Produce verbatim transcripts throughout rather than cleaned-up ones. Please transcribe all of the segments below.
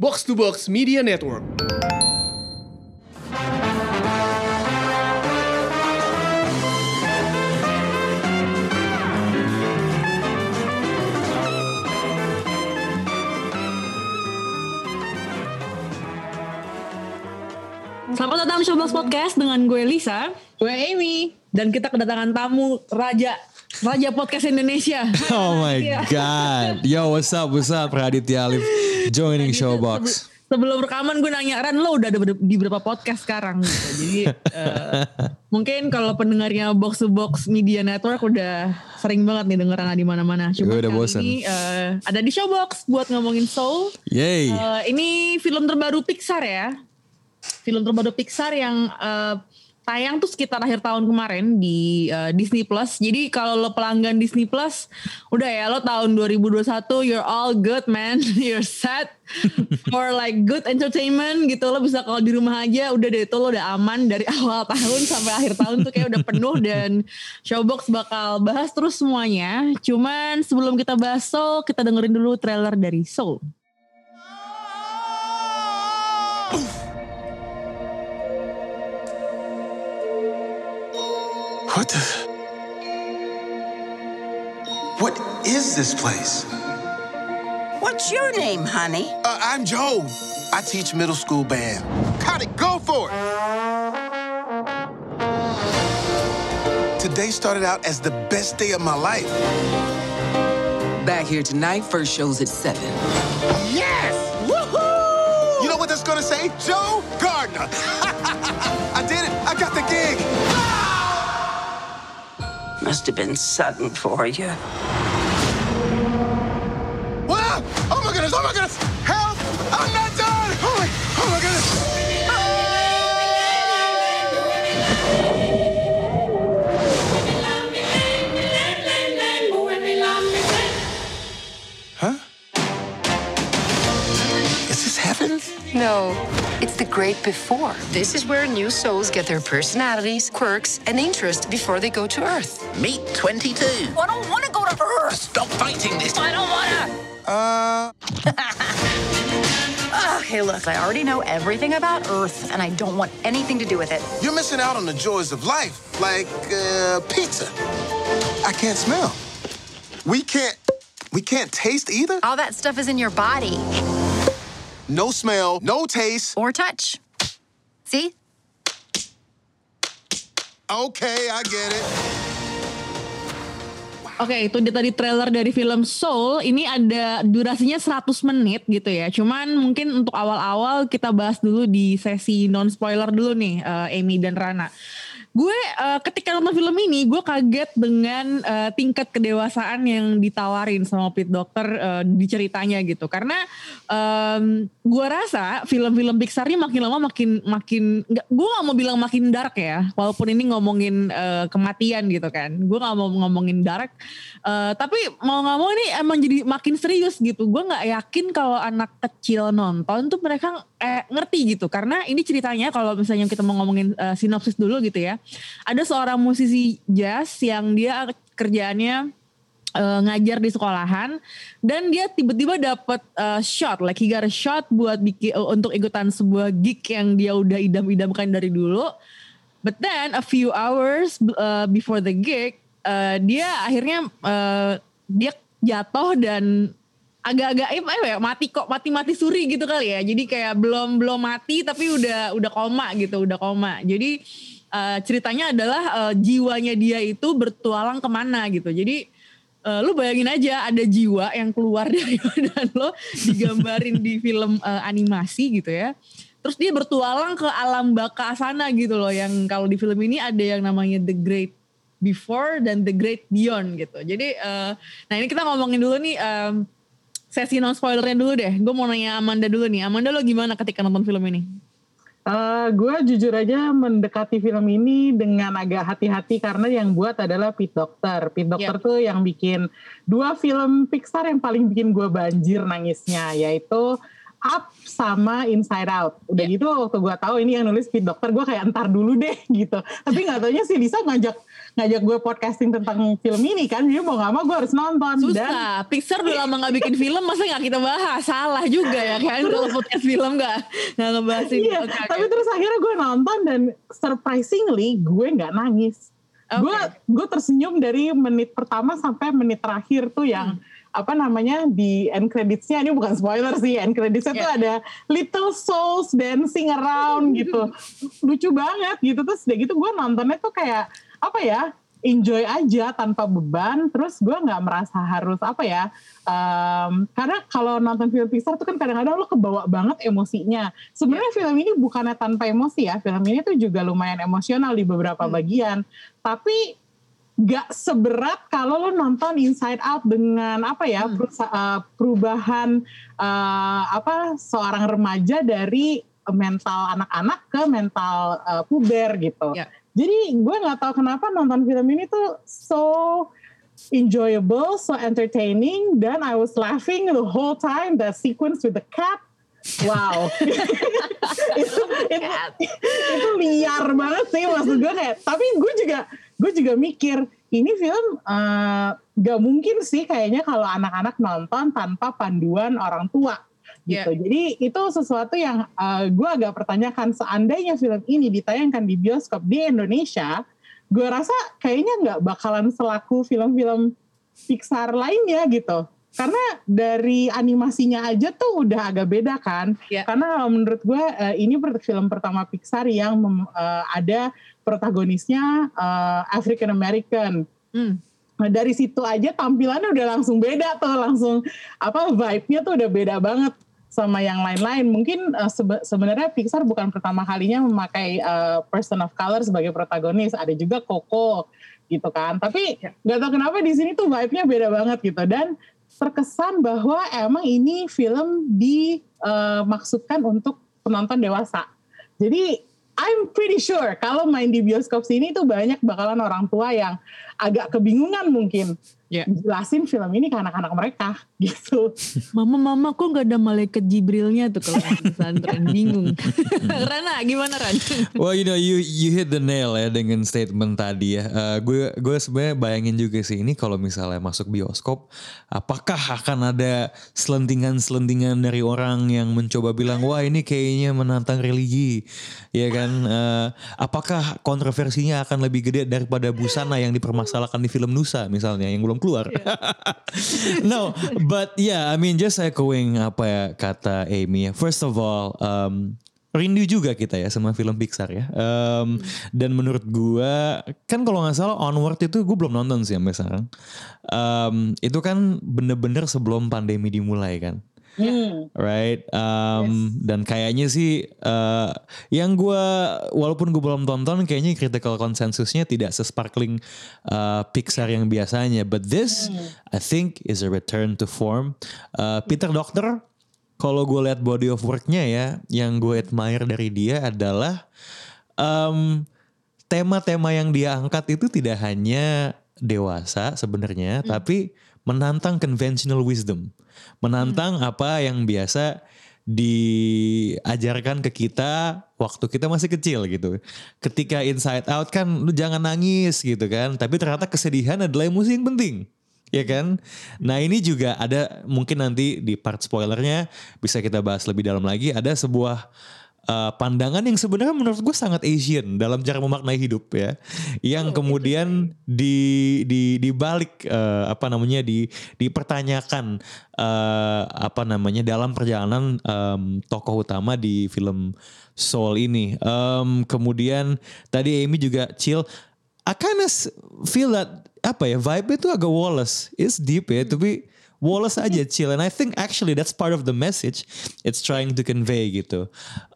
Box to Box Media Network. Selamat datang di Showbox Podcast dengan gue Lisa, gue Amy, dan kita kedatangan tamu Raja Raja Podcast Indonesia. Oh my god. Yo, what's up, what's up, Raditya Alif joining Showbox. Sebelum rekaman gue nanya, Ran, lo udah ada di berapa podcast sekarang? Gitu. Jadi uh, mungkin kalau pendengarnya Box to Box Media Network udah sering banget nih dengeran di mana-mana. Cuma gue udah kali bosan. ini uh, ada di Showbox buat ngomongin Soul. Yay. Uh, ini film terbaru Pixar ya. Film terbaru Pixar yang uh, tayang tuh sekitar akhir tahun kemarin di uh, Disney Plus. Jadi kalau lo pelanggan Disney Plus, udah ya lo tahun dua ribu dua puluh satu you're all good man, you're set for like good entertainment gitu. Lo bisa kalau di rumah aja udah deh itu lo udah aman dari awal tahun sampai akhir tahun tuh kayak udah penuh dan Showbox bakal bahas terus semuanya. Cuman sebelum kita bahas Soul, kita dengerin dulu trailer dari Soul. What the? What is this place? What's your name, honey? Uh, I'm Joe. I teach middle school band. Got it, go for it! Today started out as the best day of my life. Back here tonight, first show's at seven. Yes! Woohoo! You know what that's gonna say? Joe Gardner. I did it. I got the gig. Must have been sudden for you. Wow! Oh my goodness! Oh my goodness! Help! I'm not done! Oh my! Oh my goodness! Huh? Is this heaven? No, it's the great before. This is where new souls get their personalities, quirks, and interests before they go to Earth. Meet twenty-two. I don't want to go to Earth. Stop fighting this. I don't want to. Uh... Okay, look, I already know everything about Earth, and I don't want anything to do with it. You're missing out on the joys of life, like uh, pizza. I can't smell. We can't. We can't taste either. All that stuff is in your body. No smell, no taste. Or touch. See? Okay, I get it. Oke, okay, itu dia tadi trailer dari film Soul. Ini ada durasinya seratus menit gitu ya. Cuman mungkin untuk awal-awal kita bahas dulu di sesi non-spoiler dulu nih, uh, Amy dan Rana. Gue uh, ketika nonton film ini, gue kaget dengan uh, tingkat kedewasaan yang ditawarin sama Pete Docter uh, di ceritanya gitu. Karena um, gue rasa film-film Pixar ini makin lama makin makin, gak, gue gak mau bilang makin dark ya. Walaupun ini ngomongin uh, kematian gitu kan. Gue gak mau ngomongin dark. Uh, tapi mau gak mau ini emang jadi makin serius gitu. Gue gak yakin kalau anak kecil nonton tuh mereka eh, ngerti gitu. Karena ini ceritanya kalau misalnya kita mau ngomongin uh, sinopsis dulu gitu ya. Ada seorang musisi jazz yang dia kerjaannya uh, ngajar di sekolahan dan dia tiba-tiba dapat uh, shot, like he got a shot buat bikin uh, untuk ikutan sebuah gig yang dia udah idam-idamkan dari dulu. But then a few hours uh, before the gig, uh, dia akhirnya uh, dia jatuh dan agak-agak eh, ya, mati kok mati-mati suri gitu kali ya. Jadi kayak belum belum mati tapi udah udah koma gitu, udah koma. Jadi Uh, ceritanya adalah uh, jiwanya dia itu bertualang kemana gitu. Jadi uh, lu bayangin aja ada jiwa yang keluar dari badan lo digambarin di film uh, animasi gitu ya. Terus dia bertualang ke alam baka sana gitu loh. Yang kalau di film ini ada yang namanya The Great Before dan The Great Beyond gitu. Jadi uh, nah ini kita ngomongin dulu nih um, sesi non spoilernya dulu deh. Gue mau nanya Amanda dulu nih. Amanda lo gimana ketika nonton film ini? Uh, gue jujur aja mendekati film ini dengan agak hati-hati karena yang buat adalah Pete Docter. Pete Docter yep. tuh yang bikin dua film Pixar yang paling bikin gue banjir nangisnya, yaitu Up sama Inside Out. Udah yeah. gitu waktu gue tahu ini yang nulis Pete Docter, gue kayak entar dulu deh gitu. Tapi nggak taunya si Lisa ngajak ngajak gue podcasting tentang film ini kan, jadi mau nggak mau gue harus nonton. Susah, dan Pixar udah lama nggak bikin film, masa nggak kita bahas? Salah juga ya kan kalau podcast film nggak nggak ngebahas ini. Iya, okay, tapi okay. terus akhirnya gue nonton dan surprisingly gue nggak nangis. Okay. Gue gue tersenyum dari menit pertama sampai menit terakhir tuh yang hmm. apa namanya di end credits-nya, ini bukan spoiler sih, end credits-nya yeah. tuh ada little souls dancing around gitu, lucu banget gitu. Terus udah gitu gue nontonnya tuh kayak apa ya, enjoy aja tanpa beban. Terus gue nggak merasa harus apa ya, um, karena kalau nonton film Pixar tuh kan kadang-kadang lo kebawa banget emosinya. Sebenarnya yeah. film ini bukannya tanpa emosi ya, film ini tuh juga lumayan emosional di beberapa hmm. bagian, tapi gak seberat kalau lo nonton Inside Out dengan apa ya hmm. perubahan uh, apa seorang remaja dari mental anak-anak ke mental uh, puber gitu. Yeah. Jadi gue nggak tahu kenapa nonton film ini tuh so enjoyable, so entertaining, dan I was laughing the whole time. The sequence with the cat. Wow, itu, itu, itu liar banget sih maksud gue kayak. Tapi gue juga gue juga mikir ini film uh, gak mungkin sih kayaknya kalau anak-anak nonton tanpa panduan orang tua gitu. Yeah. Jadi itu sesuatu yang uh, gue agak pertanyakan. Seandainya film ini ditayangkan di bioskop di Indonesia, gue rasa kayaknya nggak bakalan selaku film-film Pixar lainnya gitu. Karena dari animasinya aja tuh udah agak beda kan. Yeah. Karena menurut gue uh, ini film pertama Pixar yang mem, uh, ada protagonisnya uh, African American. Mm. Nah, dari situ aja tampilannya udah langsung beda tuh, langsung apa vibe-nya tuh udah beda banget sama yang lain-lain. Mungkin uh, sebe- sebenarnya Pixar bukan pertama kalinya memakai uh, person of color sebagai protagonis. Ada juga Coco gitu kan. Tapi nggak tahu kenapa di sini tuh vibe-nya beda banget gitu. Dan terkesan bahwa emang ini film dimaksudkan uh, untuk penonton dewasa. Jadi I'm pretty sure kalau main di bioskop sini tuh banyak bakalan orang tua yang agak kebingungan mungkin. Yeah. Jelasin film ini ke anak-anak mereka gitu. Mama-mama kok gak ada malaikat Jibrilnya tuh kalau di pesantren, bingung. Rana gimana Ran? Well you know you you hit the nail ya dengan statement tadi ya. Uh, gue gue sebenarnya bayangin juga sih ini kalau misalnya masuk bioskop, apakah akan ada selentingan-selentingan dari orang yang mencoba bilang wah ini kayaknya menantang religi, ya kan? Uh, apakah kontroversinya akan lebih gede daripada busana yang dipermasalahkan di film Nusa misalnya yang belum keluar. Yeah. No, but yeah, I mean just echoing apa ya kata Amy ya. First of all, um, rindu juga kita ya sama film Pixar ya. Um, hmm. Dan menurut gue, kan kalau gak salah Onward itu gue belum nonton sih sampai sekarang. Um, itu kan bener-bener sebelum pandemi dimulai kan. Hmm. Right, um, yes. Dan kayaknya sih uh, yang gue walaupun gue belum tonton, kayaknya critical consensusnya tidak sesparkling uh, Pixar yang biasanya. But this, hmm. I think, is a return to form. Uh, Peter Docter, kalau gue lihat body of worknya ya, yang gue admire dari dia adalah um, tema-tema yang dia angkat itu tidak hanya dewasa sebenarnya, hmm. tapi menantang conventional wisdom. Menantang hmm. apa yang biasa diajarkan ke kita waktu kita masih kecil gitu. Ketika Inside Out kan lu jangan nangis gitu kan. Tapi ternyata kesedihan adalah emosi yang penting. Ya kan? Nah ini juga ada mungkin nanti di part spoilernya bisa kita bahas lebih dalam lagi. Ada sebuah Uh, pandangan yang sebenarnya menurut gue sangat Asian dalam cara memaknai hidup ya, yang oh, kemudian di di dibalik uh, apa namanya di dipertanyakan uh, apa namanya dalam perjalanan um, tokoh utama di film Soul ini. Um, kemudian tadi Amy juga chill. I kind of feel that apa ya vibe itu agak Wallace, it's deep ya, tapi Wallace aja chill, and I think actually that's part of the message it's trying to convey gitu.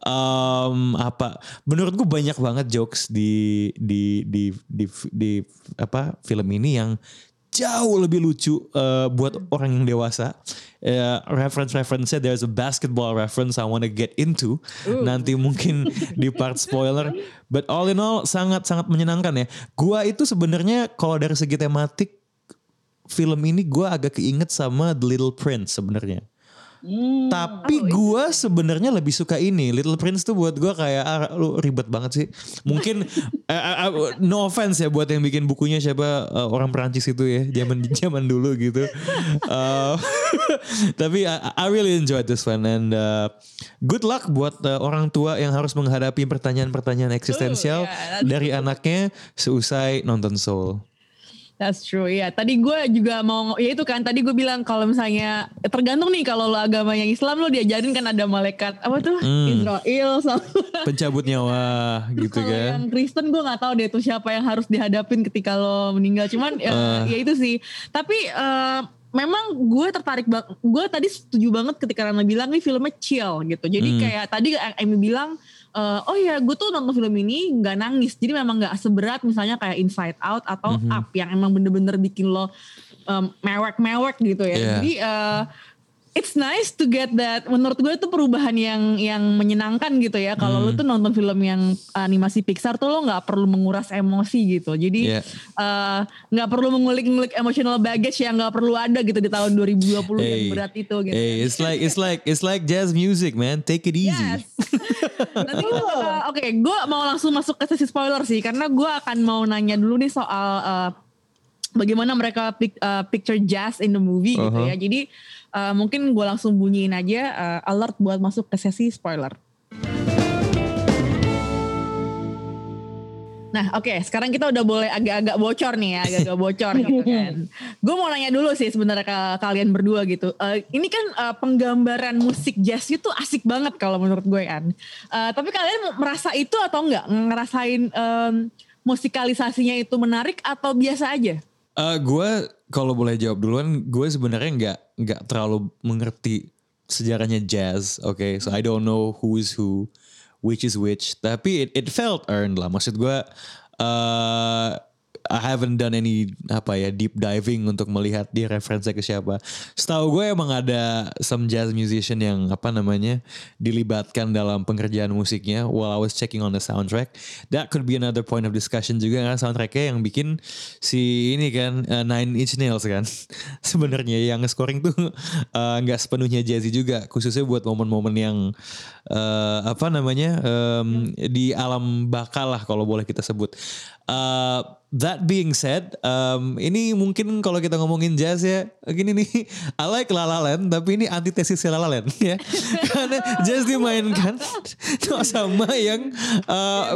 Um, apa? Menurut gue banyak banget jokes di di di di, di apa film ini yang jauh lebih lucu uh, buat orang yang dewasa. Uh, reference-reference-nya there's a basketball reference I want to get into. Ooh. Nanti mungkin di part spoiler. But all in all sangat-sangat menyenangkan ya. Gua itu sebenarnya kalau dari segi tematik film ini gue agak keinget sama The Little Prince sebenarnya. Hmm. Tapi gue sebenarnya lebih suka ini. Little Prince tuh buat gue kayak ah, lu ribet banget sih. Mungkin uh, uh, no offense ya buat yang bikin bukunya siapa uh, orang Perancis itu ya, zaman zaman dulu gitu. Uh, tapi I, I really enjoyed this one and uh, good luck buat uh, orang tua yang harus menghadapi pertanyaan-pertanyaan eksistensial uh, yeah, dari anaknya seusai nonton Soul. That's true ya. Yeah. Tadi gue juga mau, ya itu kan tadi gue bilang kalau misalnya tergantung nih kalau lo agama yang Islam lo diajarin kan ada malaikat apa tuh hmm. Israel sama pencabut nyawa gitu kalau kan. Yang Kristen gue nggak tahu deh tuh siapa yang harus dihadapin ketika lo meninggal. Cuman ya, uh. ya itu sih. Tapi uh, memang gue tertarik banget. Gue tadi setuju banget ketika Rana bilang nih filmnya chill gitu. Jadi hmm. kayak tadi Amy bilang. Uh, oh ya gue tuh nonton film ini gak nangis. Jadi memang gak seberat misalnya kayak Inside Out atau mm-hmm. Up yang emang bener-bener bikin lo um, mewek-mewek gitu ya. Yeah. Jadi uh, it's nice to get that. Menurut gue itu perubahan yang yang menyenangkan gitu ya. Kalau mm. lo tuh nonton film yang animasi Pixar tuh lo gak perlu menguras emosi gitu. Jadi yeah. uh, gak perlu mengulik-ngulik emotional baggage yang gak perlu ada gitu di tahun dua ribu dua puluh hey. Yang berat itu gitu. Hey, it's like it's like it's like jazz music man. Take it easy. Yes. Nanti kita uh, oke, okay, gue mau langsung masuk ke sesi spoiler sih, karena gue akan mau nanya dulu nih soal uh, bagaimana mereka pic, uh, picture jazz in the movie uh-huh. gitu ya. Jadi uh, mungkin gue langsung bunyiin aja uh, alert buat masuk ke sesi spoiler. Nah oke okay, sekarang kita udah boleh agak-agak bocor nih ya, agak-agak bocor gitu kan. Gue mau nanya dulu sih sebenarnya ke kalian berdua gitu. Uh, ini kan uh, penggambaran musik jazz itu asik banget kalau menurut gue kan. Uh, tapi kalian merasa itu atau enggak? Ngerasain um, musikalisasinya itu menarik atau biasa aja? Uh, gue kalau boleh jawab duluan, gue sebenarnya nggak nggak terlalu mengerti sejarahnya jazz. Oke, okay? So I don't know who is who. Which is which, tapi it, it felt earned lah. Maksud gue, uh, I haven't done any apa ya deep diving untuk melihat dia referensi ke siapa. Setahu gue emang ada some jazz musician yang apa namanya dilibatkan dalam pengerjaan musiknya. While I was checking on the soundtrack, that could be another point of discussion juga kan, soundtracknya yang bikin si ini kan uh, Nine Inch Nails kan. Sebenarnya yang scoring tuh nggak uh, sepenuhnya jazzy juga, khususnya buat momen-momen yang uh, apa namanya um, di alam baka lah kalau boleh kita sebut. Uh, that being said, um, ini mungkin kalau kita ngomongin jazz ya, gini nih, I like La La Land, tapi ini antitesis La La Land ya, karena jazz dimainkan sama yang, uh,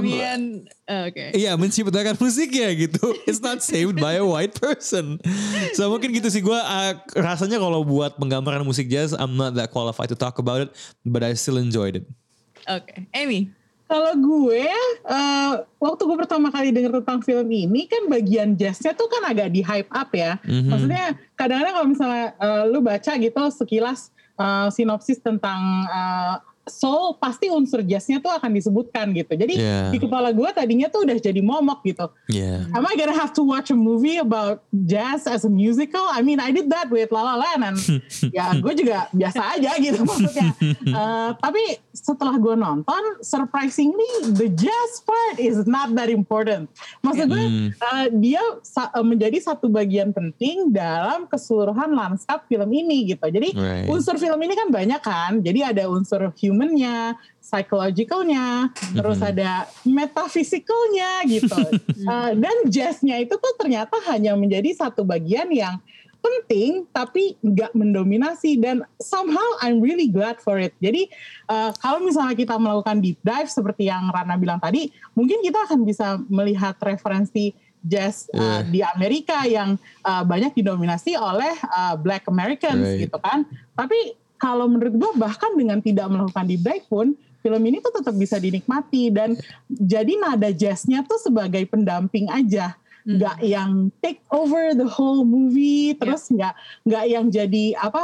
uh, okay. iya menciptakan musiknya gitu, it's not saved by a white person, so mungkin gitu sih gue, uh, rasanya kalau buat penggambaran musik jazz, I'm not that qualified to talk about it, but I still enjoyed it. Oke, okay. Amy. Kalau gue, uh, waktu gue pertama kali denger tentang film ini kan bagian jazznya tuh kan agak di hype up ya. Mm-hmm. Maksudnya kadang-kadang kalau misalnya uh, lu baca gitu sekilas uh, sinopsis tentang uh, soul, pasti unsur jazznya tuh akan disebutkan gitu. Jadi yeah. di kepala gue tadinya tuh udah jadi momok gitu. Yeah. Am I gonna have to watch a movie about jazz as a musical? I mean, I did that with La La Land and ya gue juga biasa aja gitu maksudnya. Uh, tapi setelah gue nonton, surprisingly the jazz part is not that important. Maksud gue mm. uh, dia sa- menjadi satu bagian penting dalam keseluruhan lanskap film ini gitu. Jadi right. unsur film ini kan banyak kan. Jadi ada unsur humannya, psychologicalnya, mm-hmm. terus ada metafisikalnya gitu. uh, dan jazznya itu tuh ternyata hanya menjadi satu bagian yang penting tapi nggak mendominasi, dan somehow I'm really glad for it. Jadi uh, kalau misalnya kita melakukan deep dive seperti yang Rana bilang tadi, mungkin kita akan bisa melihat referensi jazz uh, yeah. di Amerika yang uh, banyak didominasi oleh uh, Black Americans right. gitu kan. Tapi kalau menurut gue bahkan dengan tidak melakukan deep dive pun film ini tuh tetap bisa dinikmati, dan jadi nada jazznya tuh sebagai pendamping aja, nggak hmm. yang take over the whole movie, terus nggak yeah. nggak yang jadi apa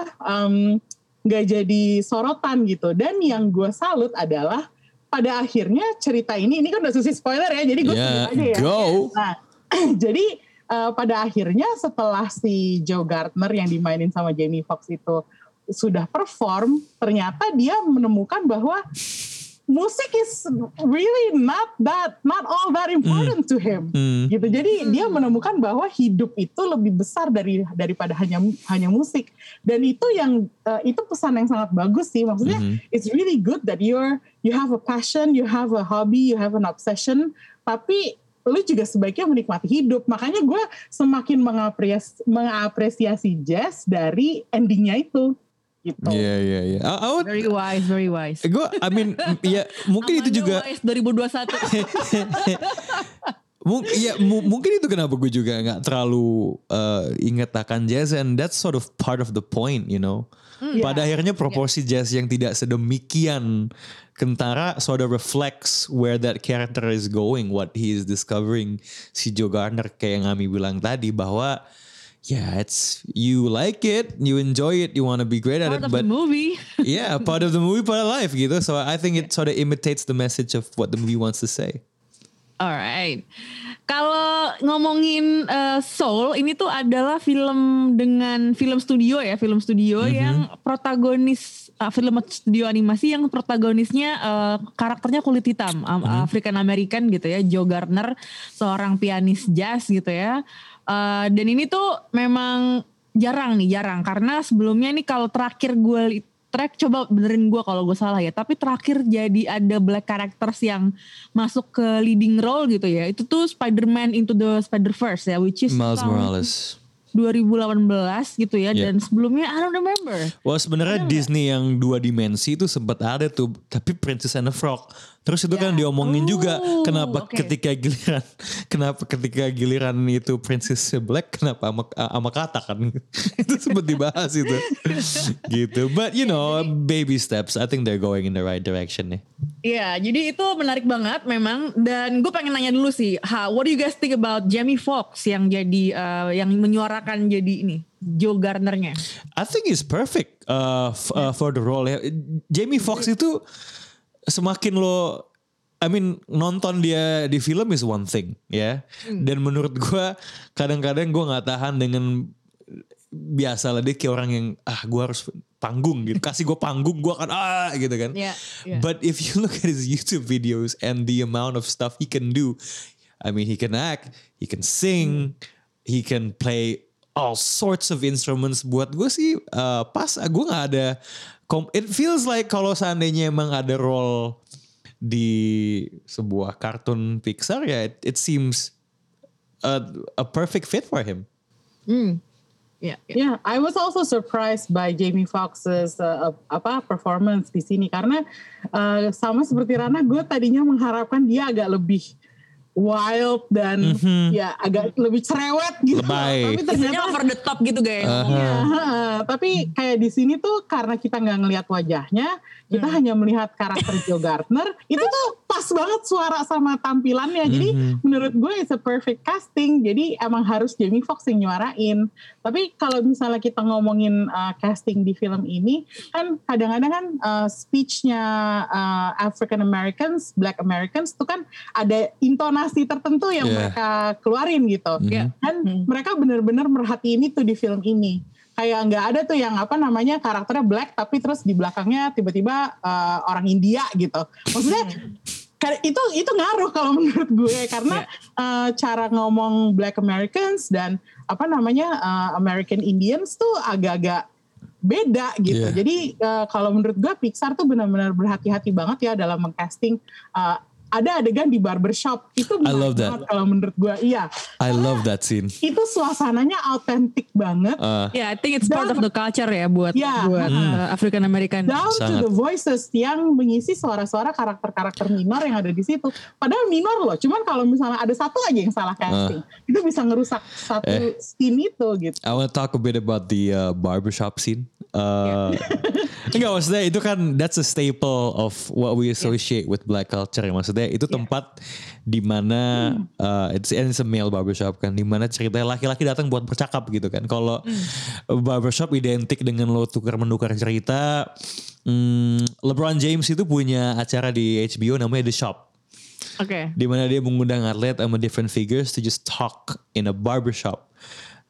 nggak um, jadi sorotan gitu. Dan yang gue salut adalah pada akhirnya cerita ini ini kan udah sesi spoiler ya, jadi gue yeah, sebut aja ya. Go. Nah jadi uh, pada akhirnya setelah si Joe Gardner yang dimainin sama Jamie Foxx itu sudah perform, ternyata dia menemukan bahwa musik is really not that not all that important mm. to him mm. gitu. Jadi mm. dia menemukan bahwa hidup itu lebih besar dari daripada hanya hanya musik, dan itu yang uh, itu pesan yang sangat bagus sih. Maksudnya mm-hmm. it's really good that you're you have a passion, you have a hobby, you have an obsession, tapi lu juga sebaiknya menikmati hidup. Makanya gue semakin mengapresiasi, mengapresiasi jazz dari endingnya itu. Gitu. Iya iya iya. Very wise, very wise. Gue, I mean, ya mungkin itu juga. Wise dua ribu dua puluh satu. Mungkin ya m- mungkin itu kenapa gue juga nggak terlalu uh, ingat akan jazz, and that's sort of part of the point, you know. Mm, Pada yeah. akhirnya proporsi yeah. jazz yang tidak sedemikian kentara sort of reflects where that character is going, what he is discovering. Si Joe Gardner kayak yang Ami bilang tadi bahwa yeah, it's you like it, you enjoy it, you want to be great at part it, of but the movie. yeah, part of the movie, part of life gitu. So I think it sort of imitates the message of what the movie wants to say. Alright, kalau ngomongin uh, Soul, ini tuh adalah film dengan film studio ya, film studio mm-hmm. yang protagonis uh, film studio animasi yang protagonisnya uh, karakternya kulit hitam, um, mm-hmm. African American gitu ya, Joe Gardner, seorang pianis jazz gitu ya. Uh, dan ini tuh memang jarang nih, jarang karena sebelumnya nih kalau terakhir gue track, coba benerin gue kalau gue salah ya, tapi terakhir jadi ada black characters yang masuk ke leading role gitu ya, itu tuh Spider-Man Into the Spider-Verse ya, which is Miles Morales dua ribu delapan belas gitu ya, yeah. Dan sebelumnya I don't remember. Wah sebenarnya Disney yang dua dimensi itu sempat ada tuh, tapi Princess and the Frog. Terus itu yeah. kan diomongin oh, juga kenapa okay. ketika giliran, kenapa ketika giliran itu Princess Black, kenapa ama, ama kata kan itu sempat dibahas itu, gitu. But you know, baby steps. I think they're going in the right direction nih. Iya, yeah, jadi itu menarik banget memang. Dan gue pengen nanya dulu sih, ha, what do you guys think about Jamie Foxx yang jadi uh, yang menyuarakan jadi ini Joe Gardner-nya? I think he's perfect uh, f- uh, for the role. Jamie Foxx itu semakin lo, I mean nonton dia di film is one thing ya. Hmm. Dan menurut gue kadang-kadang gue nggak tahan dengan biasa lah dia kayak orang yang ah gue harus panggung gitu, kasih gue panggung gue akan ah gitu kan. Yeah, yeah. But if you look at his YouTube videos and the amount of stuff he can do, I mean he can act, he can sing, hmm. he can play all sorts of instruments. Buat gue sih uh, pas gue nggak ada. It feels like kalau seandainya emang ada role di sebuah kartun Pixar ya, it, it seems a, a perfect fit for him. Hmm. Yeah, yeah. yeah, I was also surprised by Jamie Foxx's uh, apa performance di sini karena uh, sama seperti Rana, gue tadinya mengharapkan dia agak lebih wild dan mm-hmm. ya agak lebih cerewet gitu. Lebay. Tapi ternyata over the top gitu guys. Uh-huh. Ya, uh, tapi kayak di sini tuh karena kita nggak ngelihat wajahnya, kita hmm. hanya melihat karakter Joe Gardner. Itu tuh pas banget suara sama tampilannya. Jadi mm-hmm. menurut gue it's a perfect casting. Jadi emang harus Jamie Foxx yang nyuarain. Tapi kalau misalnya kita ngomongin uh, casting di film ini, kan kadang-kadang kan uh, speech-nya uh, African Americans, Black Americans tuh kan ada intonasi tertentu yang yeah. mereka keluarin gitu. Mm-hmm. Dan mm-hmm. mereka benar-benar merhatiin itu di film ini. Kayak nggak ada tuh yang apa namanya karakternya black tapi terus di belakangnya tiba-tiba uh, orang India gitu. Maksudnya itu itu ngaruh kalau menurut gue karena yeah. uh, cara ngomong Black Americans dan apa namanya uh, American Indians tuh agak-agak beda gitu. Yeah. Jadi uh, kalau menurut gue Pixar tuh benar-benar berhati-hati banget ya dalam mengcasting. Uh, ada adegan di barbershop itu I love that. Kalau menurut gue iya. I love that scene. Itu suasananya autentik banget. Uh, yeah, I think it's part of the culture ya buat yeah, buat mm. uh, African American. Down Sangat. to the voices yang mengisi suara-suara karakter-karakter minor yang ada di situ. Padahal minor loh. Cuman kalau misalnya ada satu aja yang salah casting, uh. itu bisa ngerusak satu eh. scene itu gitu. I want to talk a bit about the uh, barbershop scene. Uh, enggak maksudnya itu kan that's a staple of what we associate yeah. with black culture ya, maksudnya itu tempat yeah. di mana hmm. uh, it's, it's a male barbershop kan, di mana ceritanya laki-laki datang buat bercakap gitu kan. Kalau hmm. barbershop identik dengan lo tukar menukar cerita. Hmm, LeBron James itu punya acara di H B O namanya The Shop. Oke. Okay. Di mana dia mengundang atlet sama different figures to just talk in a barbershop.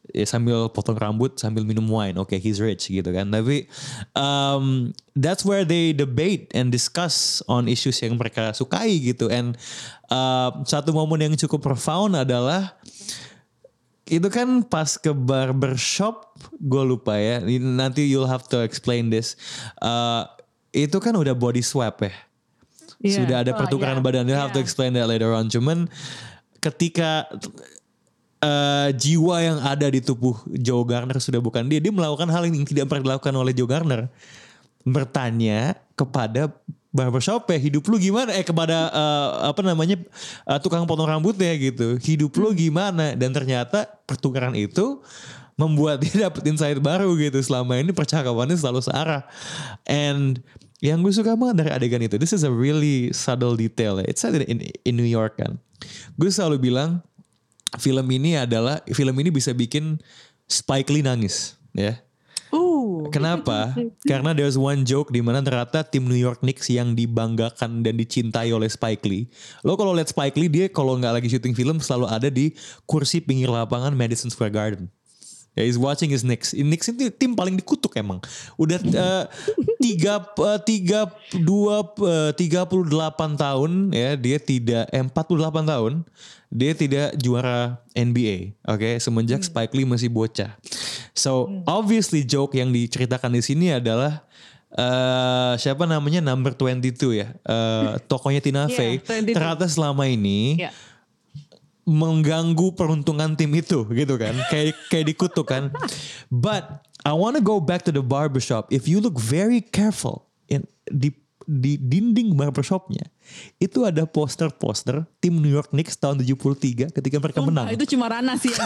ya sambil potong rambut sambil minum wine, oke okay, he's rich gitu kan. Tapi um, that's where they debate and discuss on issues yang mereka sukai gitu. And uh, satu momen yang cukup profound adalah itu kan pas ke barbershop, gue lupa ya, nanti you'll have to explain this. Uh, itu kan udah body swap ya, yeah. Sudah ada pertukaran oh, yeah. badan. You'll yeah. have to explain that later on. Cuman ketika Uh, jiwa yang ada di tubuh Joe Garner sudah bukan dia. Dia melakukan hal yang tidak pernah dilakukan oleh Joe Garner. Bertanya kepada barbershop ya, hidup lu gimana? Eh kepada uh, apa namanya uh, tukang potong rambutnya gitu. Hidup lu gimana? Dan ternyata pertukaran itu membuat dia dapet insight baru gitu. Selama ini percakapannya selalu searah. And yang gue suka banget dari adegan itu, this is a really subtle detail. It's set in, in New York kan. Gue selalu bilang film ini adalah film ini bisa bikin Spike Lee nangis, ya. Uh. Kenapa? Karena there's one joke di mana ternyata tim New York Knicks yang dibanggakan dan dicintai oleh Spike Lee. Lo kalau lihat Spike Lee, dia kalau nggak lagi syuting film selalu ada di kursi pinggir lapangan Madison Square Garden. Ya, he's watching his Knicks. Knicks itu tim paling dikutuk emang. Udah uh, tiga uh, tiga dua uh, tiga puluh delapan tahun ya dia tidak eh, empat puluh delapan tahun dia tidak juara N B A. Oke, okay? Semenjak hmm. Spike Lee masih bocah. So hmm. obviously joke yang diceritakan di sini adalah uh, siapa namanya number twenty-two ya, uh, tokonya Tina Fey. Yeah, ternyata selama ini. Yeah. Mengganggu peruntungan tim itu gitu kan, kayak kayak dikutuk kan. But I want to go back to the barbershop. If you look very careful in di di dinding barbershopnya itu ada poster-poster tim New York Knicks tahun tujuh puluh tiga ketika mereka oh, menang. Itu cuma Rana sih.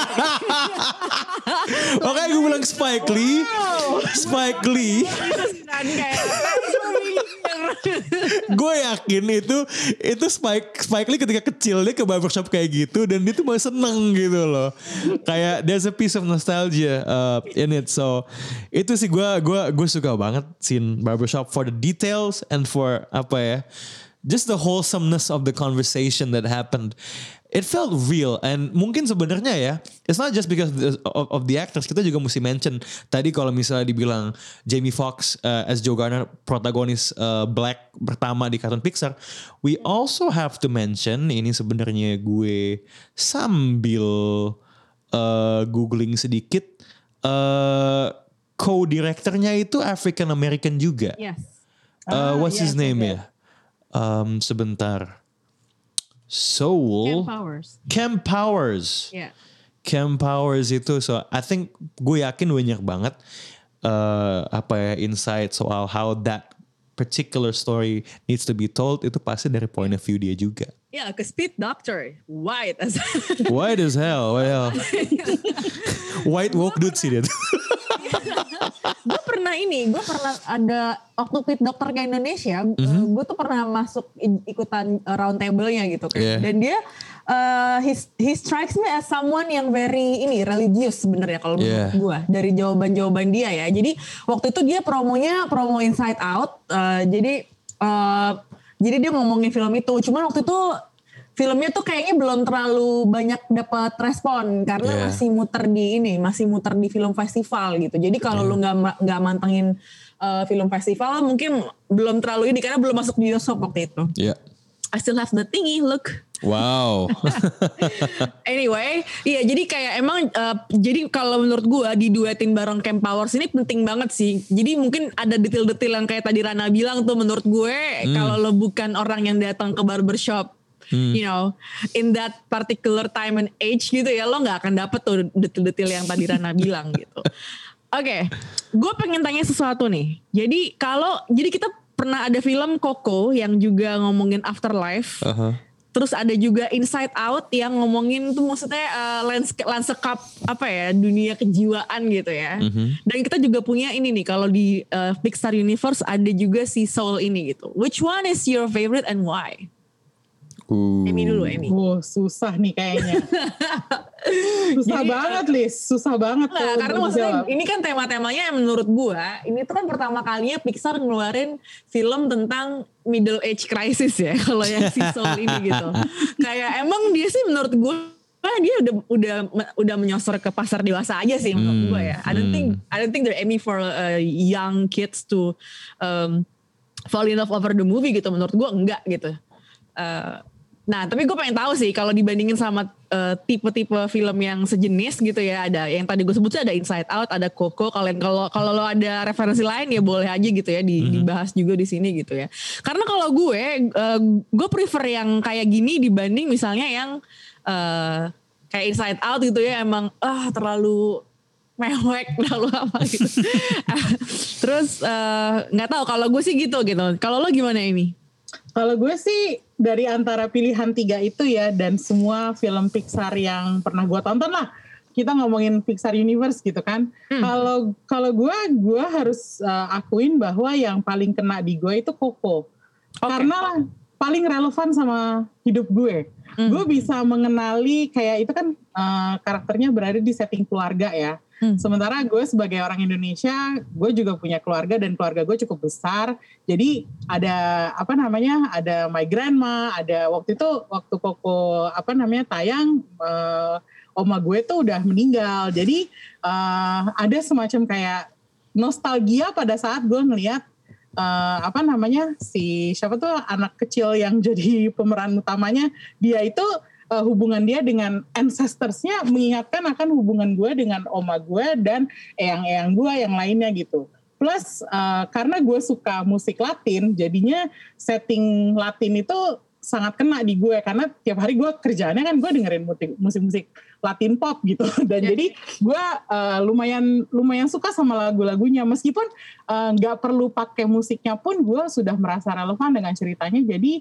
Oke, gue bilang Spike Lee, Spike Lee. Gue yakin itu itu Spike Spike Lee ketika kecil dia ke barbershop kayak gitu dan dia tuh masih seneng gitu loh. Kayak there's a piece of nostalgia uh, in it. So itu sih gue gue gue suka banget scene barbershop for the details and for apa ya, just the wholesomeness of the conversation that happened. It felt real and mungkin sebenarnya ya, it's not just because of, of the actors. Kita juga mesti mention tadi kalau misalnya dibilang Jamie Foxx uh, as Joe Garner protagonis uh, Black pertama di kartun Pixar, we also have to mention ini sebenarnya gue sambil uh, googling sedikit, uh, co-directornya itu African American juga. Yes. Uh, what's yes, his name yes. ya? Um, sebentar. Soul. Cam Powers. Cam Powers. Yeah. Cam Powers itu, so I think gue yakin banyak banget uh, apa ya insight soal how that particular story needs to be told itu pasti dari point of view dia juga. Yeah, cause Pete Doctor white as white as hell, well, white woke dude sih dia. Gue pernah ini, gue pernah ada waktu Pete Doctor ke Indonesia, mm-hmm. gue tuh pernah masuk ikutan round table-nya gitu kan. Yeah. Dan dia, uh, he, he strikes me as someone yang very ini religious sebenarnya kalau yeah. menurut gue dari jawaban-jawaban dia ya. Jadi waktu itu dia promonya promo Inside Out, uh, jadi uh, jadi dia ngomongin film itu. Cuman waktu itu filmnya tuh kayaknya belum terlalu banyak dapat respon karena yeah. masih muter di ini, masih muter di film festival gitu. Jadi kalau yeah. lu nggak nggak mantengin uh, film festival mungkin belum terlalu ini karena belum masuk bioskop waktu itu. Yeah. I still have the thingy, look. Wow. Anyway, iya jadi kayak emang uh, jadi kalau menurut gue diduetin bareng Cam Powers ini penting banget sih. Jadi mungkin ada detail-detail yang kayak tadi Rana bilang tuh menurut gue hmm. kalau lo bukan orang yang datang ke barbershop, hmm. you know, in that particular time and age gitu ya, lo gak akan dapet tuh detail-detail yang tadi Rana bilang gitu. Oke, okay. Gue pengen tanya sesuatu nih. Jadi kalau, jadi kita pernah ada film Coco yang juga ngomongin afterlife. Uh-huh. Terus ada juga Inside Out yang ngomongin tuh maksudnya uh, landscape, landscape apa ya, dunia kejiwaan gitu ya. Uh-huh. Dan kita juga punya ini nih, kalau di uh, Pixar Universe ada juga si Soul ini gitu. Which one is your favorite and why? Uh. Emi dulu, Emi. Oh, susah nih kayaknya. susah Jadi, banget, Lis. Susah banget. Nah, karena maksudnya jawab. Ini kan tema-temanya yang menurut gua, ini tuh kan pertama kalinya Pixar ngeluarin film tentang middle age crisis ya. Kalau yang si Soul ini gitu. Kayak emang dia sih menurut gua dia udah udah udah menyosor ke pasar dewasa aja sih menurut Hmm, gue ya. I don't hmm. think I don't think they're aiming for uh, young kids to um, fall in love over the movie gitu. Menurut gue enggak gitu. Uh, nah tapi gue pengen tahu sih kalau dibandingin sama uh, tipe-tipe film yang sejenis gitu ya, ada yang tadi gue sebut sih ada Inside Out, ada Coco. Kalian kalau kalau lo ada referensi lain ya boleh aja gitu ya di, mm-hmm. dibahas juga di sini gitu ya. Karena kalau gue uh, gue prefer yang kayak gini dibanding misalnya yang uh, kayak Inside Out gitu ya, emang ah terlalu mewek terlalu apa gitu. Terus nggak uh, tahu kalau gue sih gitu gitu. Kalau lo gimana ini? Kalau gue sih dari antara pilihan tiga itu ya, dan semua film Pixar yang pernah gue tonton lah, kita ngomongin Pixar Universe gitu kan. Kalau hmm. kalau gue gue harus uh, akuin bahwa yang paling kena di gue itu Coco, okay. karena paling relevan sama hidup gue. Hmm. Gue bisa mengenali kayak itu kan uh, karakternya berada di setting keluarga ya. Hmm. Sementara gue sebagai orang Indonesia, gue juga punya keluarga dan keluarga gue cukup besar. Jadi ada apa namanya, ada my grandma, ada waktu itu waktu Coco apa namanya tayang, uh, oma gue tuh udah meninggal. Jadi uh, ada semacam kayak nostalgia pada saat gue ngelihat uh, apa namanya si siapa tuh anak kecil yang jadi pemeran utamanya, dia itu Uh, hubungan dia dengan ancestors-nya mengingatkan akan hubungan gue dengan oma gue dan eyang-eyang gue yang lainnya gitu. Plus uh, karena gue suka musik Latin, jadinya setting Latin itu sangat kena di gue, karena tiap hari gue kerjaannya kan gue dengerin musik-musik Latin pop gitu. Dan yeah. jadi gue uh, lumayan lumayan suka sama lagu-lagunya, meskipun nggak uh, perlu pakai musiknya pun gue sudah merasa relevan dengan ceritanya. Jadi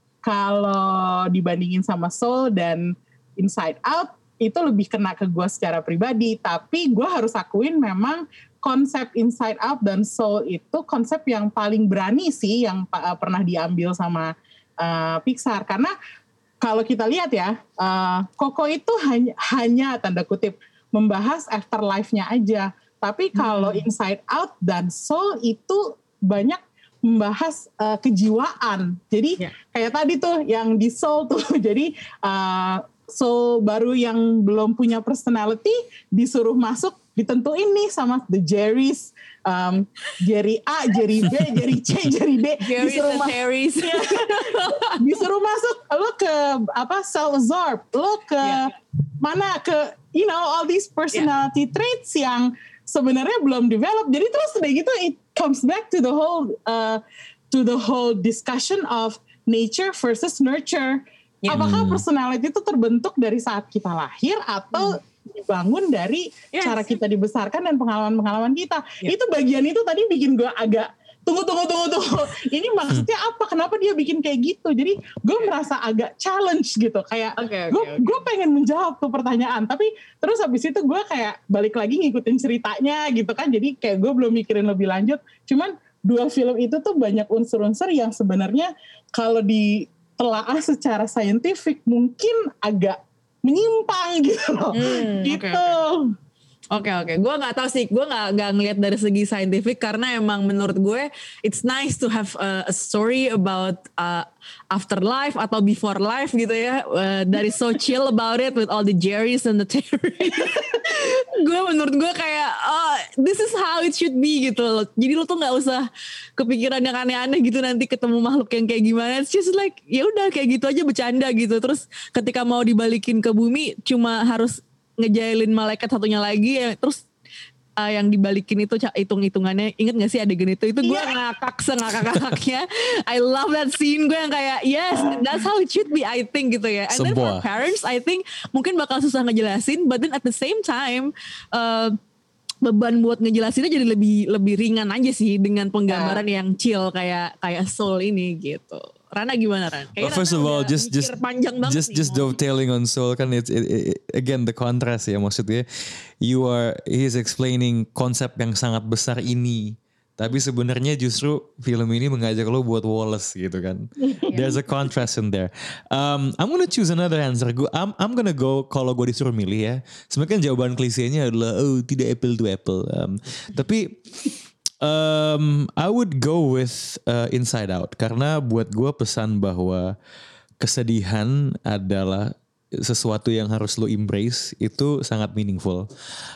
kalau dibandingin sama Soul dan Inside Out, itu lebih kena ke gue secara pribadi. Tapi gue harus akuin memang konsep Inside Out dan Soul itu konsep yang paling berani sih yang uh, pernah diambil sama uh, Pixar. Karena kalau kita lihat ya, uh, Coco itu hanya, hanya tanda kutip membahas afterlife-nya aja. Tapi kalau hmm. Inside Out dan Soul itu banyak membahas uh, kejiwaan. Jadi yeah. kayak tadi tuh yang di Soul tuh. Jadi uh, Soul baru yang belum punya personality disuruh masuk, ditentuin nih sama the Jerrys, um, Jerry A, Jerry B, Jerry C, Jerry D. Jerry's and Harry's. Ya, disuruh masuk, lo ke apa self-absorbed, lo ke yeah. mana ke you know all these personality yeah. traits yang sebenarnya belum develop. Jadi terus udah gitu it comes back to the whole uh, to the whole discussion of nature versus nurture. Yeah. Apakah personality itu terbentuk dari saat kita lahir atau hmm. dibangun dari yes. cara kita dibesarkan dan pengalaman-pengalaman kita? Yeah. Itu bagian itu tadi bikin gue agak tunggu tunggu tunggu tunggu. Ini maksudnya apa? Kenapa dia bikin kayak gitu? Jadi gue merasa agak challenge gitu. Kayak okay, okay, gue okay. gue pengen menjawab tuh pertanyaan. Tapi terus habis itu gue kayak balik lagi ngikutin ceritanya gitu kan. Jadi kayak gue belum mikirin lebih lanjut. Cuman dua film itu tuh banyak unsur-unsur yang sebenarnya kalau ditelaah secara saintifik mungkin agak menyimpang gitu loh. Hmm, gitu. Okay, okay. Oke okay, oke, okay. Gue nggak tahu sih, gue nggak nggak ngelihat dari segi saintifik karena emang menurut gue it's nice to have a, a story about uh, afterlife atau before life gitu ya. Uh, that is so chill about it with all the Jerrys and the Terrys. Gue menurut gue kayak oh, this is how it should be gitu loh. Jadi lo tuh nggak usah kepikiran yang aneh-aneh gitu nanti ketemu makhluk yang kayak gimana. It's just like ya udah kayak gitu aja bercanda gitu. Terus ketika mau dibalikin ke bumi cuma harus ngejailin malaikat satunya lagi ya, terus uh, yang dibalikin itu hitung-hitungannya, inget gak sih adegan itu itu gue yeah. ngakak sengakak-ngakaknya. I love that scene, gue yang kayak yes that's how it should be I think gitu ya. And then for parents I think mungkin bakal susah ngejelasin, but then at the same time uh, beban buat ngejelasinnya jadi lebih lebih ringan aja sih dengan penggambaran yeah. yang chill kayak kayak Soul ini gitu. Rana gimana Ran? Well, first of all, just just just just dovetailing on Soul kan it's it, it, again the contrast ya, maksudnya you are he is explaining konsep yang sangat besar ini, tapi sebenarnya justru film ini mengajak lo buat Wallace gitu kan. There's a contrast in there. Um, I'm gonna choose another answer. Gue I'm I'm gonna go kalau gue disuruh milih ya. Sebenarnya kan jawaban klisenya adalah oh tidak apple to apple. Um, tapi Um, I would go with uh, Inside Out karena buat gue pesan bahwa kesedihan adalah sesuatu yang harus lo embrace itu sangat meaningful.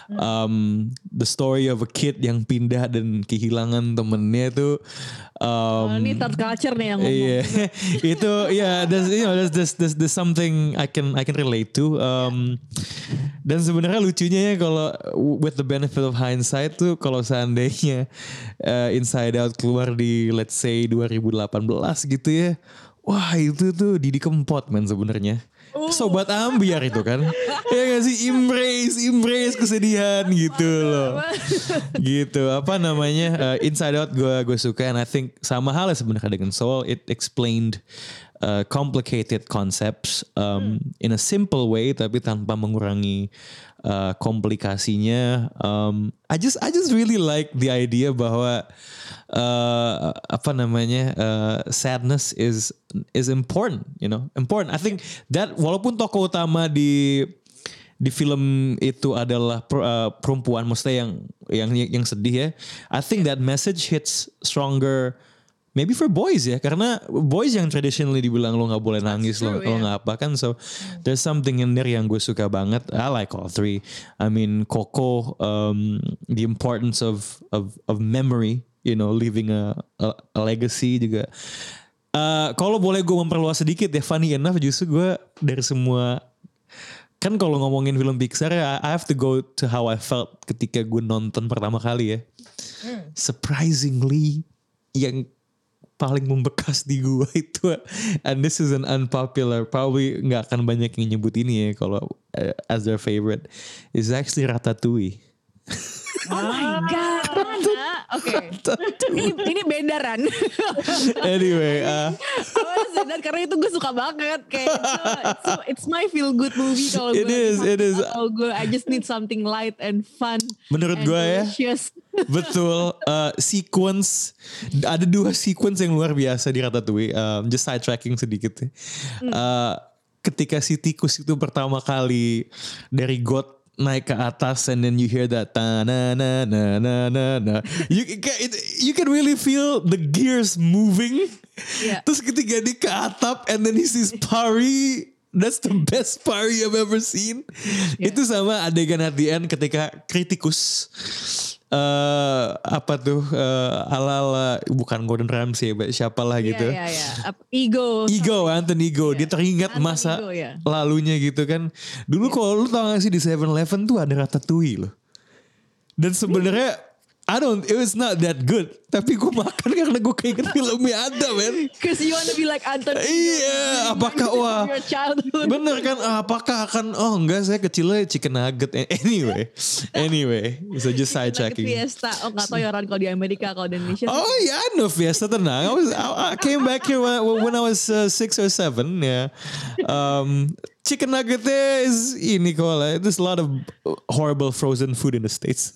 Um, the story of a kid yang pindah dan kehilangan temennya itu um, oh, ini third culture nih yang ngomong. Iya, itu ya, yeah, there's, you know, there's, there's, there's, there's something I can I can relate to. Um, dan sebenarnya lucunya ya kalau with the benefit of hindsight tuh kalau seandainya uh, Inside Out keluar di let's say dua ribu delapan belas gitu ya. Wah itu tuh Didi Kempot man sebenarnya. Uh. Sobat ambiar itu kan. Ya gak sih, embrace, embrace kesedihan gitu loh. Gitu, apa namanya, uh, Inside Out gue gue suka. And I think sama halnya sebenarnya dengan Soul, it explained uh, complicated concepts um, hmm. in a simple way tapi tanpa mengurangi uh, komplikasinya. Um, I just I just really like the idea bahwa Uh, apa namanya uh, sadness is is important, you know, important. I think that walaupun tokoh utama di di film itu adalah per, uh, perempuan, maksudnya yang yang yang sedih ya. I think that message hits stronger, maybe for boys ya, karena boys yang traditionally dibilang lo nggak boleh nangis, lo lo nggak apa kan. So there's something in there yang gue suka banget. I like all three. I mean Coco, um, the importance of of of memory. You know, leaving a, a, a legacy juga. Uh, kalau boleh gue memperluas sedikit ya, funny enough justru gue dari semua, kan kalau ngomongin film Pixar ya, I have to go to how I felt ketika gue nonton pertama kali ya. Hmm. Surprisingly, yang paling membekas di gue itu, and this is an unpopular, probably nggak akan banyak yang nyebut ini ya kalau uh, as their favorite, is actually Ratatouille. Oh my god, Rana. Oke. Ini ini beda Ran. Anyway, uh, oh, dan karena itu gue suka banget kayak it's, so, it's my feel good movie kalau gue. It is, it is. Kalau gue I just need something light and fun. Menurut gue ya. Betul. Uh, sequence, ada dua sequence yang luar biasa di Ratatouille. Um, just sidetracking sedikit ya. Uh, ketika si tikus itu pertama kali dari got naik ke atas and then you hear that ta na na na na na na, you it, you can really feel the gears moving. Yeah. Terus ketika dia ke atap and then he sees Pari, that's the best Pari I've ever seen. Yeah. Itu sama adegan at the end ketika kritikus uh, apa tuh uh, ala-ala bukan Gordon Ramsay ya, siapalah gitu. Yeah, yeah, yeah. Ego. Ego, Anthony Ego. Yeah. Dia teringat Anthony masa Ego, yeah. lalunya gitu kan. Dulu yeah. kalau lu tau gak sih di seven eleven tuh ada Ratatouille loh. Dan sebenarnya I don't, it was not that good. Tapi gue makan karena gue keinget filmnya ada, man. Cause you wanna be like Anthony. Iya, apakah wah, bener kan? Apakah akan, oh enggak, saya kecilnya chicken nugget. Anyway, anyway, so just side checking. Fiesta, oh nggak tahu ya orang kalau di Amerika, kalau di Indonesia. Oh iya, yeah, no Fiesta, tenang. I was, I, I came back here when, when I was uh, six or seven, ya. Yeah. Um, chicken nuggetnya is ini kok lah. There's a lot of horrible frozen food in the States.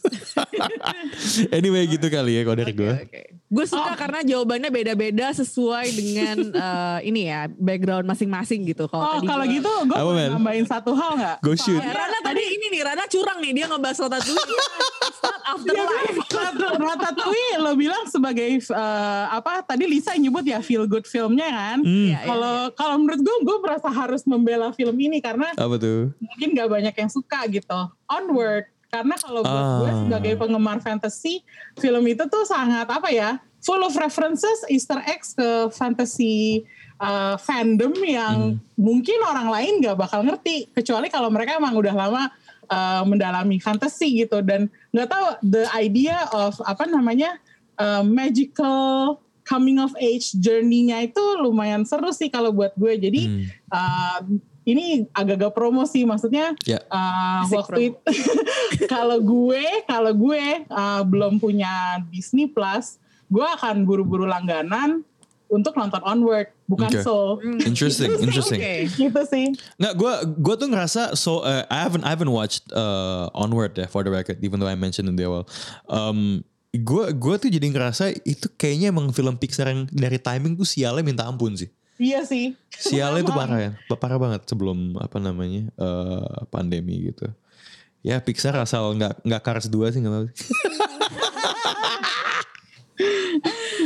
Anyway, gitu kali ya kalau dari gue. Okay. Gue suka oh. karena jawabannya beda-beda sesuai dengan uh, ini ya background masing-masing gitu. Kalo oh kalau gitu gue boleh nambahin satu hal nggak? Go shoot. Oh, Rana tadi ini nih Rana curang nih dia ngebahas Ratatouille. Start afterlife. Ratatouille lo bilang sebagai uh, apa? Tadi Lisa nyebut ya feel good filmnya kan. Kalau hmm. kalau menurut gue gue merasa harus membela film ini karena apa tuh? Mungkin nggak banyak yang suka gitu. Onward. Karena kalau buat ah. gue sebagai penggemar fantasy, film itu tuh sangat apa ya, full of references, Easter eggs ke fantasy uh, fandom yang hmm. mungkin orang lain gak bakal ngerti. Kecuali kalau mereka emang udah lama uh, mendalami fantasy gitu. Dan gak tahu the idea of apa namanya, uh, magical coming of age journey-nya itu lumayan seru sih kalau buat gue. Jadi hmm. uh, ini agak-agak promo sih, maksudnya yeah. uh, waktu itu kalau gue kalau gue uh, belum punya Disney Plus, gue akan buru-buru langganan untuk nonton Onward, bukan okay. Soul. Interesting, gitu interesting. Okay. Gitu sih. Nggak, gue gue tuh ngerasa so uh, I haven't I haven't watched uh, Onward ya, for the record, even though I mentioned in the awal. Um, gue gue tuh jadi ngerasa itu kayaknya emang film Pixar yang dari timing tuh sialnya minta ampun sih. Iya sih. Sialnya itu parah ya, parah banget sebelum apa namanya uh, pandemi gitu. Ya Pixar asal nggak nggak Cars dua sih nggak apa. Oke,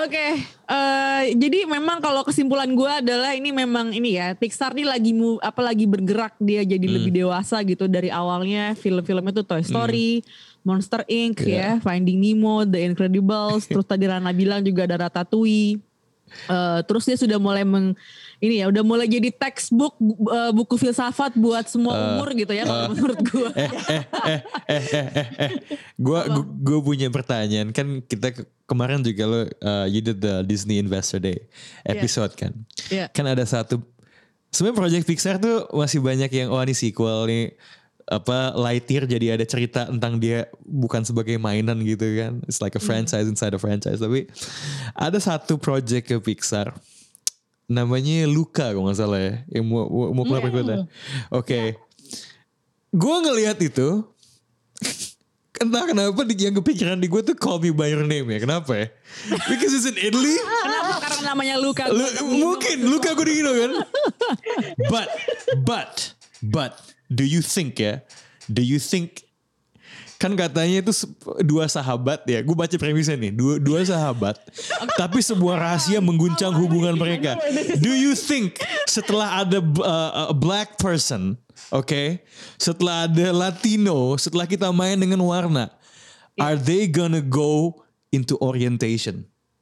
Oke, uh, jadi memang kalau kesimpulan gue adalah ini memang ini ya Pixar nih lagi mu, apa lagi bergerak dia jadi hmm. lebih dewasa gitu dari awalnya film-filmnya tuh Toy Story, hmm. Monster Incorporated yeah. ya, Finding Nemo, The Incredibles, terus tadi Rana bilang juga ada Ratatouille. Uh, terus dia sudah mulai meng, ini ya udah mulai jadi textbook uh, buku filsafat buat semua uh, umur gitu ya uh, menurut gue. Eh eh eh eh eh eh, eh. gue gue punya pertanyaan kan kita ke, kemarin juga lo uh, you did the Disney Investor Day episode yeah. kan, yeah. kan ada satu sebenarnya project Pixar tuh masih banyak yang oh ini sequel nih apa Lightyear jadi ada cerita tentang dia bukan sebagai mainan gitu kan. It's like a franchise inside a franchise. Tapi ada satu project ke Pixar namanya Luca kalau gak salah ya. Yang mau, mau keluar yeah. berikutnya. Oke. Okay. Yeah. Gue ngelihat itu. Entah kenapa yang kepikiran di gue tuh Call Me By Your Name ya. Kenapa ya? Because it's in Italy. Kenapa? Karena namanya Luca. Lu, mungkin Luca gue digino kan. But, but, but. Do you think ya? Do you think kan katanya itu dua sahabat ya? Gue baca premisnya nih, dua dua sahabat, tapi sebuah rahasia mengguncang hubungan mereka. Do you think setelah ada uh, a black person, oke, okay, setelah ada Latino, setelah kita main dengan warna, are they gonna go into orientation?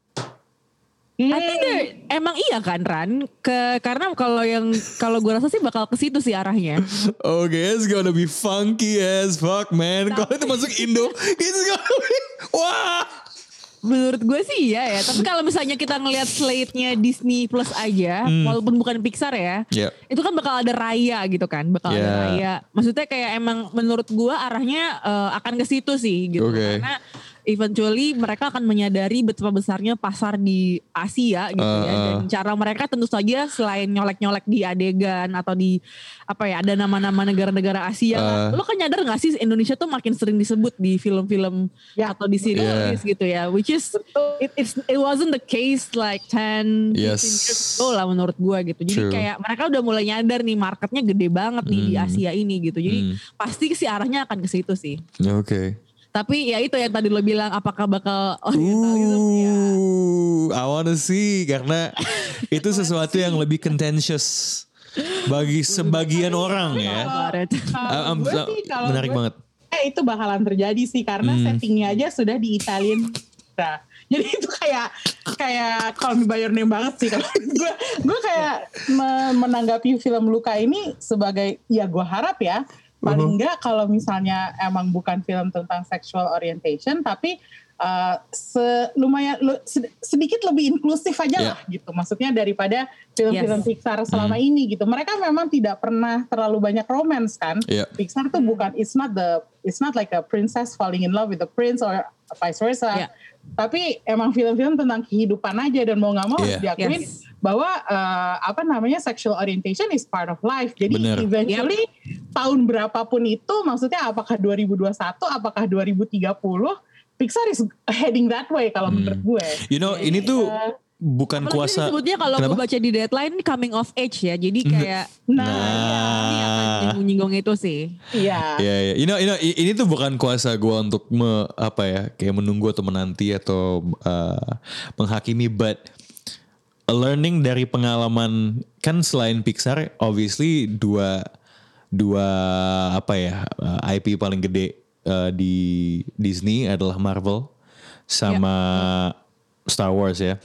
I think emang iya kan Ran, ke karena kalau yang kalau gue rasa sih bakal ke situ sih arahnya. Oke, okay, it's gonna be funky as fuck man. Kalau itu masuk Indo, it's gonna be wah. Menurut gue sih iya ya. Tapi kalau misalnya kita ngelihat slate-nya Disney Plus aja, hmm. walaupun bukan Pixar ya, yep. itu kan bakal ada Raya gitu kan, bakal yeah. ada Raya. Maksudnya kayak emang menurut gue arahnya uh, akan ke situ sih gitu. Okay. Karena eventually mereka akan menyadari betapa besarnya pasar di Asia gitu uh, ya. Dan cara mereka tentu saja selain nyolek-nyolek di adegan atau di apa ya, ada nama-nama negara-negara Asia. Uh, kan. Lo kan nyadar gak sih Indonesia tuh makin sering disebut di film-film ya, atau di series yeah. gitu ya. Which is it, it's, it wasn't the case like ten, yes. fifteen years ago lah menurut gue gitu. Jadi True. kayak mereka udah mulai nyadar nih marketnya gede banget nih mm. di Asia ini gitu. Jadi mm. pasti sih arahnya akan ke situ sih. Oke. Okay. Tapi ya itu yang tadi lo bilang apakah bakal oriental uh, gitu ya. I wanna see karena itu sesuatu yang lebih contentious bagi sebagian orang ya. Uh, um, uh, sih, menarik gue, banget. Eh, itu bakalan terjadi sih karena hmm. settingnya aja sudah di Italian. Nah, jadi itu kayak kayak Call Me By Your Name banget sih kalau gue gue kayak menanggapi film Luca ini sebagai ya gue harap ya. Paling enggak kalau misalnya emang bukan film tentang sexual orientation, tapi uh, se, lumayan lu, sedikit lebih inklusif aja yeah. lah gitu. Maksudnya daripada film-film yes. Pixar selama mm. ini gitu. Mereka memang tidak pernah terlalu banyak romance kan. Yeah. Pixar tuh bukan, it's not the, it's not like a princess falling in love with a prince or vice versa. Yeah. Tapi emang film-film tentang kehidupan aja dan mau nggak mau yeah. diakuin yes. bahwa uh, apa namanya sexual orientation is part of life. Jadi Bener. eventually yep. tahun berapapun itu, maksudnya apakah dua ribu dua puluh satu, apakah dua ribu tiga puluh, Pixar is heading that way kalau hmm. menurut gue. You know, yeah. ini tuh uh, bukan apalagi kuasa. Sebutnya kalau gue baca di Deadline coming of age ya. Jadi kayak nah, nah ini akan nyinggung itu sih. Iya. Iya, iya. You know, you know, ini tuh bukan kuasa gue untuk me, apa ya, kayak menunggu atau menanti atau uh, menghakimi, but learning dari pengalaman kan selain Pixar, obviously dua dua apa ya uh, I P paling gede uh, di Disney adalah Marvel sama yeah. Star Wars ya.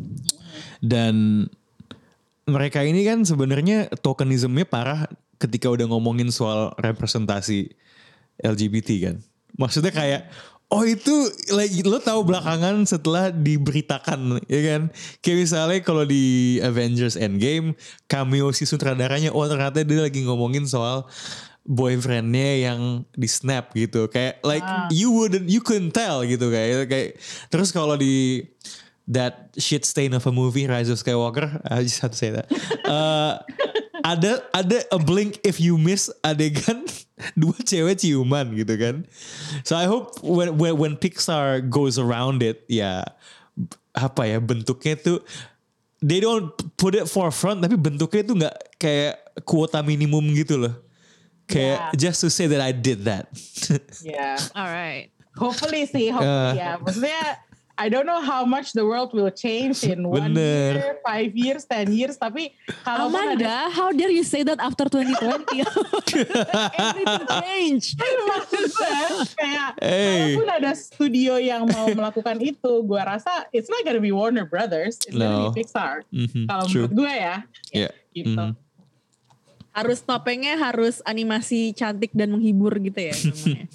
Dan mereka ini kan sebenarnya tokenismnya parah ketika udah ngomongin soal representasi L G B T kan. Maksudnya kayak oh itu like, lo tahu belakangan setelah diberitakan ya kan. Kayak misalnya kalau di Avengers Endgame cameo si sutradaranya, oh ternyata dia lagi ngomongin soal boyfriendnya yang di snap gitu. Kayak like ah. you wouldn't, you couldn't tell gitu kayak. kayak Terus kalau di that shit stain of a movie Rise of Skywalker, I just have to say that. Uh, ada ada a blink if you miss adegan dua cewek ciuman gitu kan. So I hope when when, when Pixar goes around it, ya apa ya bentuknya tuh they don't put it forefront, tapi bentuknya tuh nggak kayak kuota minimum gitu loh. Kayak yeah. just to say that I did that. Yeah, alright. Hopefully sih, hopefully uh, ya. Maksudnya I don't know how much the world will change in one Bener. year, five years, ten years. Tapi kalau Amanda, ada, how dare you say that after twenty twenty? Everything change. maksud gue kayak Hey. kalaupun ada studio yang mau melakukan itu, gue rasa it's not gonna be Warner Brothers, it's No. gonna be Pixar. Mhm, Kalau true. menurut gue ya, Yeah. gitu. Mhm. Harus topengnya harus animasi cantik dan menghibur gitu ya namanya.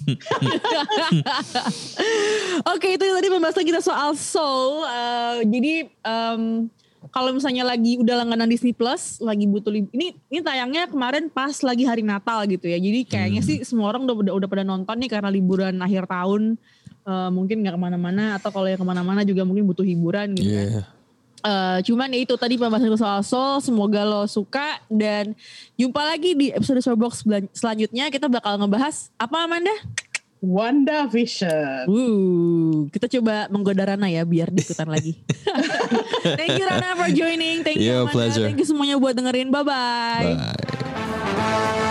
Oke, itu tadi pembahasan kita soal Soul. Uh, jadi um, kalau misalnya lagi udah langganan Disney Plus, lagi butuh lib- ini ini tayangnya kemarin pas lagi hari Natal gitu ya. Jadi kayaknya Hmm. sih semua orang udah, udah udah pada nonton nih karena liburan akhir tahun. Uh, mungkin nggak kemana-mana atau kalau yang kemana-mana juga mungkin butuh hiburan gitu kan. Yeah. Uh, cuman ya itu tadi pembahasan soal Soul, semoga lo suka dan jumpa lagi di episode Showbox selanjutnya. Kita bakal ngebahas apa, Amanda? WandaVision. Uh, kita coba menggoda Rana ya biar diikutan lagi. Thank you Rana for joining, thank you Yeah, Amanda, pleasure. thank you semuanya buat dengerin, bye bye. Bye.